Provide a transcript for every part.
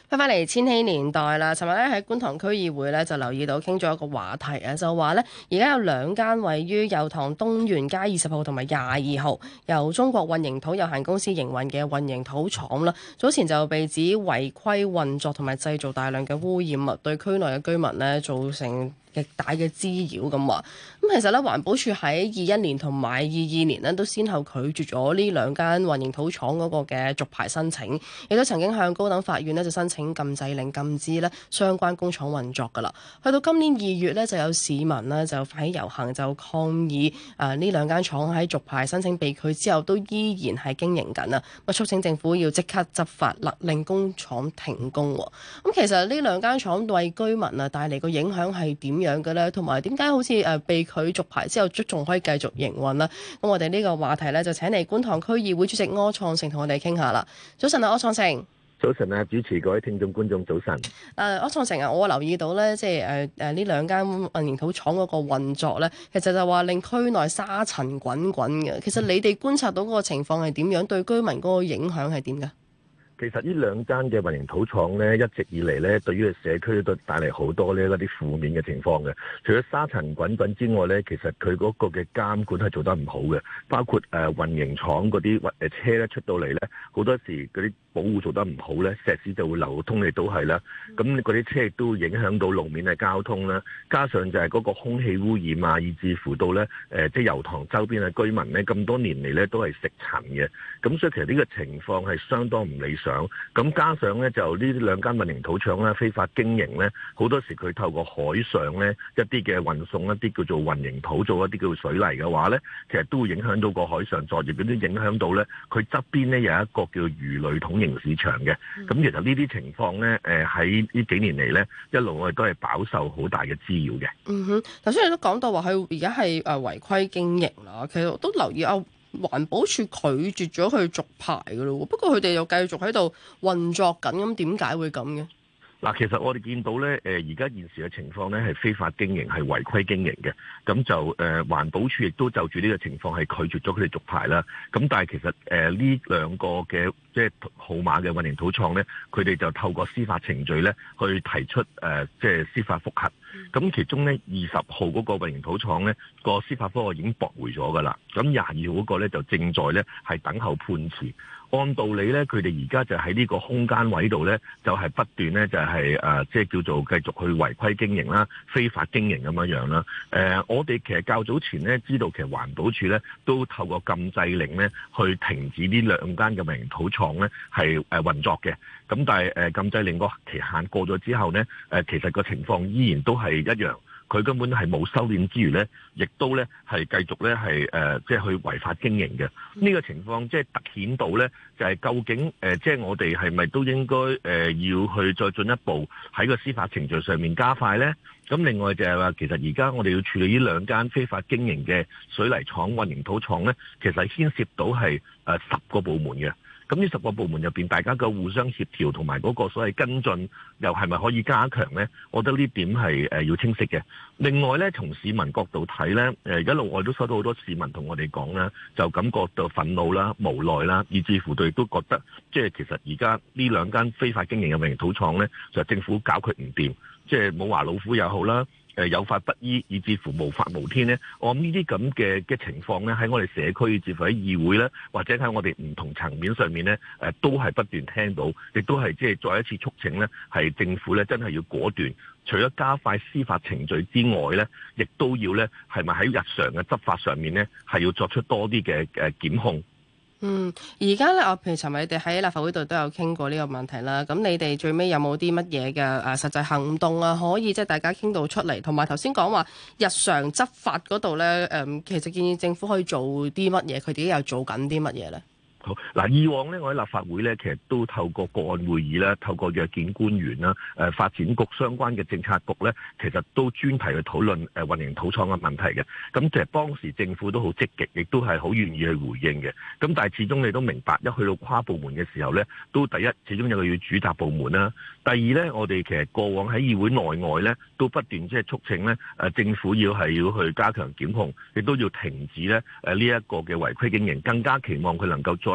翻返嚟千禧年代啦，尋日咧喺觀塘區議會咧就留意到傾咗一個話題啊，就話咧而家有兩間位於油塘東源街20號同埋22號由中國混凝土有限公司營運嘅混凝土廠啦，早前就被指違規運作同埋製造大量嘅污染物，對區內嘅居民咧造成極大嘅滋擾咁話。咁其實咧環保署喺21年同埋22年咧都先後拒絕咗呢兩間混凝土廠嗰個嘅續牌申請，亦都曾經向高等法院咧就申請禁制令，禁止咧相關工廠運作噶啦。去到今年2月咧，就有市民呢就發起遊行就抗議呢兩間廠喺續牌申請被拒之後都依然係經營緊啊！咁促請政府要即刻執法，勒令工廠停工。咁其實呢兩間廠為居民啊帶嚟個影響係點樣嘅咧？同埋點解好似被拒續牌之後仲可以繼續營運呢？咁我哋呢個話題咧就請嚟觀塘區議會主席柯創盛同我哋傾下啦。早晨啊，柯創盛。 早晨啊，主持，各位聽眾觀眾早晨。 柯創盛啊，我留意到咧，即係呢兩間混凝土廠嗰個運作咧，其實就話令區內沙塵滾滾嘅。其實你哋觀察到嗰個情況係點樣？對居民嗰個影響係點㗎？ 其實呢兩間嘅混凝土廠咧，一直以嚟咧，對於社區都帶嚟好多呢嗰啲負面嘅情況嘅。除咗沙塵滾滾之外咧，其實佢嗰個嘅監管係做得唔好嘅，包括混凝廠嗰啲車咧出到嚟咧，好多時嗰啲保護做得唔好咧，石屎就會流通嚟都係啦。咁嗰啲車亦都會影響到路面嘅交通啦。加上就係嗰個空氣污染啊，以至乎到咧即係油塘周邊嘅居民咧，咁多年嚟咧都係食塵嘅。咁所以其實呢個情況係相當唔理想。咁加上咧就呢兩間混凝土廠咧非法經營咧，好多時佢透過海上咧一啲嘅運送一啲叫做混凝土做一啲叫做水泥嘅話咧，其實都會影響到個海上作業，亦都影響到咧佢側邊咧有一個叫魚類統營市場嘅。咁其實呢啲情況咧喺呢幾年嚟咧一路我哋都係飽受好大嘅滋擾嘅。 頭先你都講到話佢而家係違規經營啦，其實我都留意環保署拒絕咗佢續牌噶咯，不過佢哋又繼續喺度運作緊，咁點解會咁嘅？ 嗱，其實我哋見到咧，而家現時嘅情況咧係非法經營，係違規經營嘅。咁就環保署亦都就住呢個情況係拒絕咗佢哋續牌啦。咁但係其實呢兩個嘅即係號碼嘅混凝土廠咧，佢哋就透過司法程序咧去提出即係司法覆核。咁其中咧20號嗰個混凝土廠咧個司法覆核已經駁回咗㗎啦。咁22號嗰個咧就正在咧係等候判詞。按道理咧，佢哋而家就喺呢個空間位度咧，就係不斷咧就係即係叫做繼續去違規經營啦、非法經營咁樣樣啦。我哋其實較早前咧知道，其實環保署咧都透過禁制令咧去停止呢兩間嘅混凝土廠咧係運作嘅。咁但係禁制令個期限過咗之後咧，其實個情況依然都係一樣。佢根本係冇收斂之餘咧，亦都咧係繼續咧係即係去違法經營嘅。呢個情況即係突顯到咧，就係究竟即係我哋係咪都應該要去再進一步喺個司法程序上面加快咧？咁另外就係話，其實而家我哋要處理呢兩間非法經營嘅水泥廠、混凝土廠咧，其實牽涉到係10個部門嘅。咁呢10個部門入邊，大家嘅互相協調同埋嗰個所謂跟進，又係咪可以加強呢？我覺得呢點係要清晰嘅。另外呢，從市民角度睇呢，一路我都收到好多市民同我哋講啦，就感覺到憤怒啦、無奈啦，以至乎對都覺得，即係其實而家呢兩間非法經營嘅混凝土廠呢，就政府搞佢唔掂，即係冇話老虎又好啦。有法不依，以至乎無法無天咧。我諗呢啲咁嘅情況咧，喺我哋社區，以至乎喺議會咧，或者喺我哋唔同層面上面咧，都係不斷聽到，亦都係即係再一次促請咧，係政府咧真係要果斷，除咗加快司法程序之外咧，亦都要咧係咪喺日常嘅執法上面咧，係要作出多啲嘅檢控。 而家咧，譬如尋日你哋喺立法會度都有傾過呢個問題啦。咁你哋最尾有冇啲乜嘢嘅實際行動啊？可以即係大家傾到出嚟，同埋頭先講話日常執法嗰度咧，其實建議政府可以做啲乜嘢？佢哋又做緊啲乜嘢咧？ 好嗱，以往咧，我喺立法會咧，其實都透過個案會議啦，透過約見官員啦，發展局相關嘅政策局咧，其實都專題去討論混凝土廠嘅問題嘅。咁其實當時政府都好積極，亦都係好願意去回應嘅。咁但係始終你都明白，一去到跨部門嘅時候咧，都第一始終有個要主責部門啦。第二咧，我哋其實過往喺議會內外咧，都不斷即係促請咧，政府要去加強檢控，亦都要停止咧呢一個嘅違規經營，更加期望佢能夠再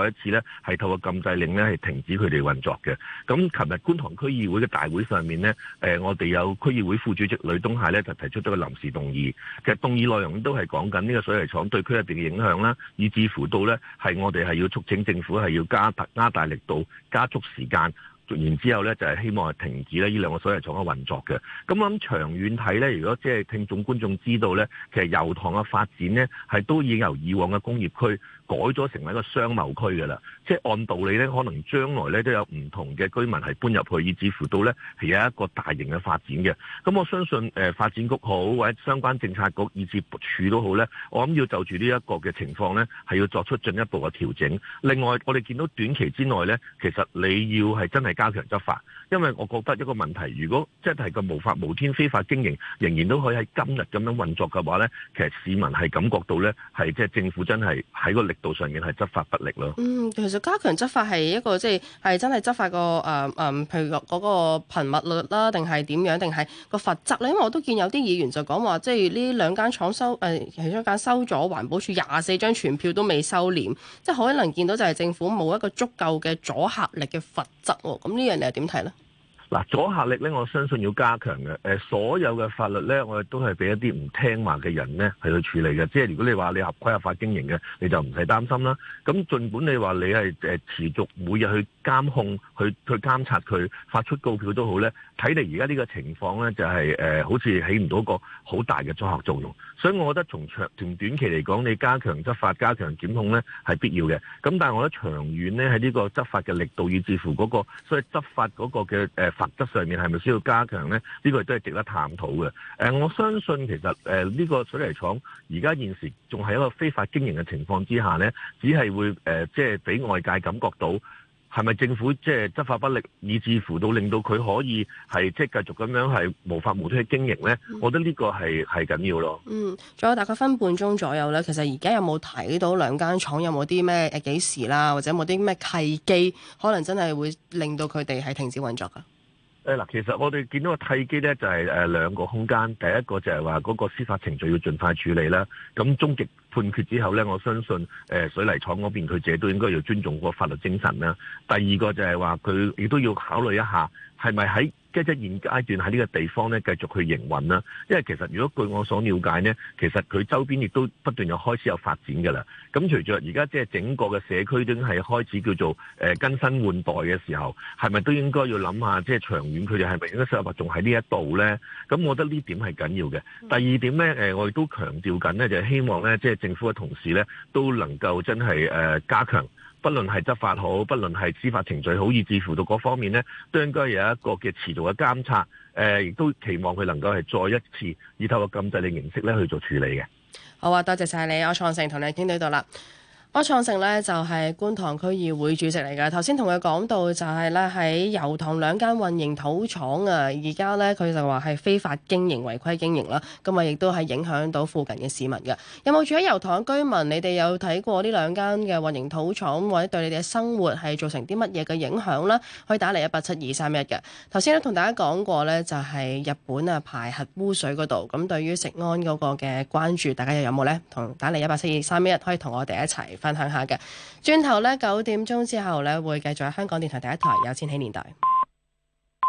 再一次咧係透過禁制令咧係停止佢哋運作嘅。咁琴日觀塘區議會嘅大會上面咧，我哋有區議會副主席呂東蟹咧就提出咗個臨時動議。其實動議內容都係講緊呢個水泥廠對區入邊嘅影響啦，以至乎到咧係我哋係要促請政府係要加大力度、加速時間。然之後咧，就係希望係停止咧呢兩個水泥廠嘅運作嘅。咁我諗長遠睇咧，如果即係聽眾觀眾知道咧，其實油塘嘅發展咧係都已經由以往嘅工業區改咗成為一個商貿區㗎啦。即係按道理咧，可能將來咧都有唔同嘅居民係搬入去，以至乎到咧係有一個大型嘅發展嘅。咁我相信發展局好或者相關政策局以至署都好咧，我諗要就住呢一個嘅情況咧，係要作出進一步嘅調整。另外，我哋見到短期之內咧，其實你要係真係加強執法，因為我覺得一個問題，如果即係個無法無天非法經營，仍然都可以喺今日咁樣運作嘅話咧，其實市民係感覺到咧係即係政府真係喺個力度上面係執法不力咯。 其實加強執法係一個即係真係執法個譬如嗰個頻密率啦，定係點樣，定係個罰則咧？因為我都見有啲議員就講話，即係呢兩間廠其中一間收咗環保署24張傳票都未收斂，即係可能見到就係政府冇一個足夠嘅阻嚇力嘅罰則喎。咁呢樣你係點睇咧？ 嗱，阻嚇力咧，我相信要加強嘅。所有嘅法律咧，我哋都係俾一啲唔聽話嘅人咧係去處理嘅。即係如果你話你合規合法經營嘅，你就唔使擔心啦。咁儘管你話你係持續每日去監控、去監察佢發出告票都好咧，睇嚟而家呢個情況咧就係好似起唔到一個好大嘅阻嚇作用。所以我覺得從短期嚟講，你加強執法、加強檢控咧係必要嘅。咁但係我覺得長遠咧喺呢個執法嘅力度，以至乎嗰個所謂執法嗰個嘅罰則上面係咪需要加強呢？呢個亦都係值得探討嘅。我相信其實呢個水泥廠而家現時仲係一個非法經營嘅情況之下呢，只係會即係俾外界感覺到係咪政府即係執法不力，以至乎到令到佢可以係即係繼續咁樣係無法無天去經營呢？我覺得呢個係緊要咯。 仲有大概分半鐘左右呢。其實而家有冇睇到兩間廠有冇啲咩幾時啦，或者有冇啲咩契機，可能真係會令到佢哋係停止運作㗎？ 其實我哋見到個契機咧，就係兩個空間。第一個就係話嗰個司法程序要盡快處理啦。咁終極判決之後咧，我相信水泥廠嗰邊佢自己都應該要尊重個法律精神啦。第二個就係話佢亦都要考慮一下，係咪喺即係現階段喺呢個地方咧繼續去營運啦。因為其實如果據我所了解呢，其實佢周邊亦都不斷開始有發展㗎啦。咁隨著而家即係整個嘅社區都係開始叫做更新換代嘅時候，係咪都應該要諗下即係長遠佢哋係咪應該適合仲喺呢一度咧？咁我覺得呢點係緊要嘅。第二點咧，我亦都強調緊咧，就係希望咧即係政府嘅同事咧都能夠真係加強。不論係執法好，不論係司法程序好，以至乎到嗰方面呢，都應該有一個嘅持續嘅監察。亦都期望佢能夠係再一次以透過禁制令形式咧去做處理嘅。 好啊，多謝晒你，柯創盛同你傾到呢度啦。柯創盛呢就係觀塘區議會主席嚟㗎。頭先同佢講到就係咧喺油塘兩間混凝土廠啊，而家呢，佢就話係非法經營、違規經營啦。咁啊，亦都係影響到附近嘅市民㗎。有冇住喺油塘嘅居民？你哋有睇過呢兩間嘅混凝土廠，或者對你哋嘅生活係造成啲乜嘢嘅影響呢？可以打嚟187-231嘅。頭先咧同大家講過呢，就係日本啊排核污水嗰度。咁對於食安嗰個嘅關注，大家又有冇呢？同打嚟187-231可以同我哋一齊分享下嘅。轉頭呢，9點鐘之後呢，會繼續喺香港電台第一台有千禧年代。